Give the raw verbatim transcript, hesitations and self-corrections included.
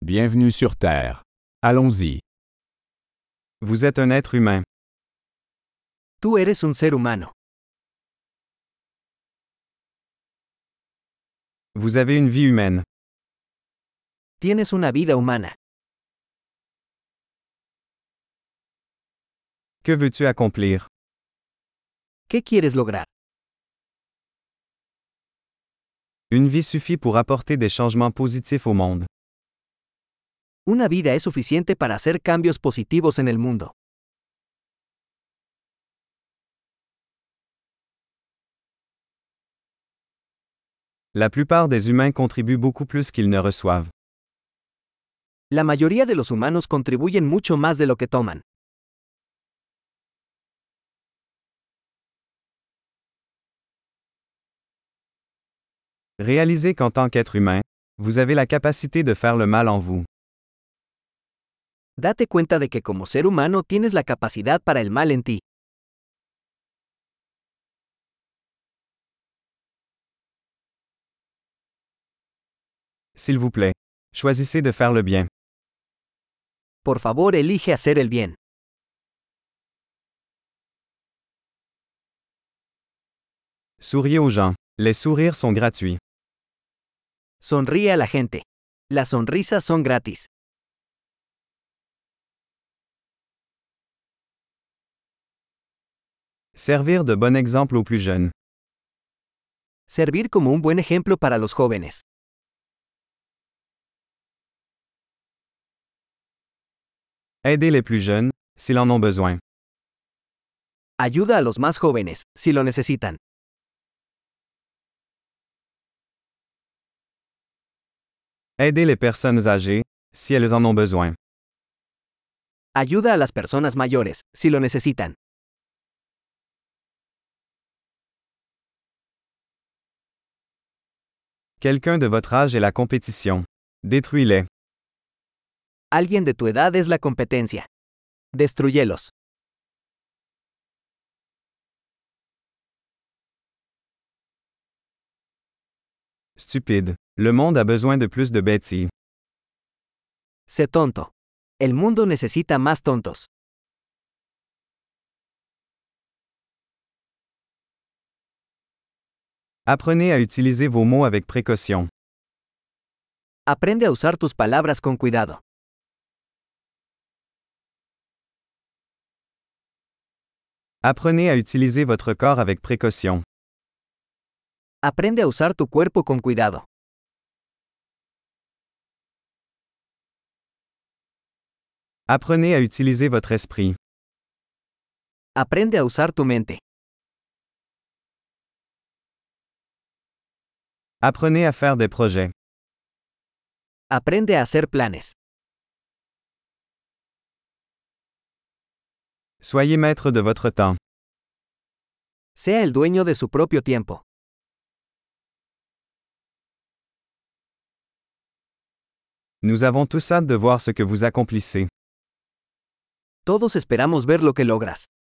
Bienvenue sur Terre. Allons-y. Vous êtes un être humain. Tú eres un ser humano. Vous avez une vie humaine. Tienes una vida humana. Que veux-tu accomplir? ¿Qué quieres lograr? Une vie suffit pour apporter des changements positifs au monde. Una vida es suficiente para hacer cambios positivos en el mundo. La plupart des humains contribuent beaucoup plus qu'ils ne reçoivent. La mayoría de los humanos contribuyen mucho más de lo que toman. Réalisez qu'en tant qu'être humain, vous avez la capacité de faire le mal en vous. Date cuenta de que como ser humano tienes la capacidad para el mal en ti. S'il vous plaît, choisissez de faire le bien. Por favor, elige hacer el bien. Souriez aux gens. Les sourires sont gratuits. Sonríe a la gente. Las sonrisas son gratis. Servir de bon exemple aux plus jeunes. Servir como un buen ejemplo para los jóvenes. Aider les plus jeunes, s'ils en ont besoin. Ayuda a los más jóvenes, si lo necesitan. Aider les personnes âgées, si elles en ont besoin. Ayuda a las personas mayores, si lo necesitan. Quelqu'un de votre âge est la compétition. Détruis-les. Alguien de tu edad es la competencia. Destruyelos. Stupide. Le monde a besoin de plus de bêtises. Sé tonto. El mundo necesita más tontos. Apprenez à utiliser vos mots avec précaution. Aprende a usar tus palabras con cuidado. Apprenez à utiliser votre corps avec précaution. Aprende a usar tu cuerpo con cuidado. Apprenez à utiliser votre esprit. Aprende a usar tu mente. Apprenez à faire des projets. Aprende a hacer planes. Soyez maître de votre temps. Sea el dueño de su propio tiempo. Nous avons tous hâte de voir ce que vous accomplissez. Todos esperamos ver lo que logras.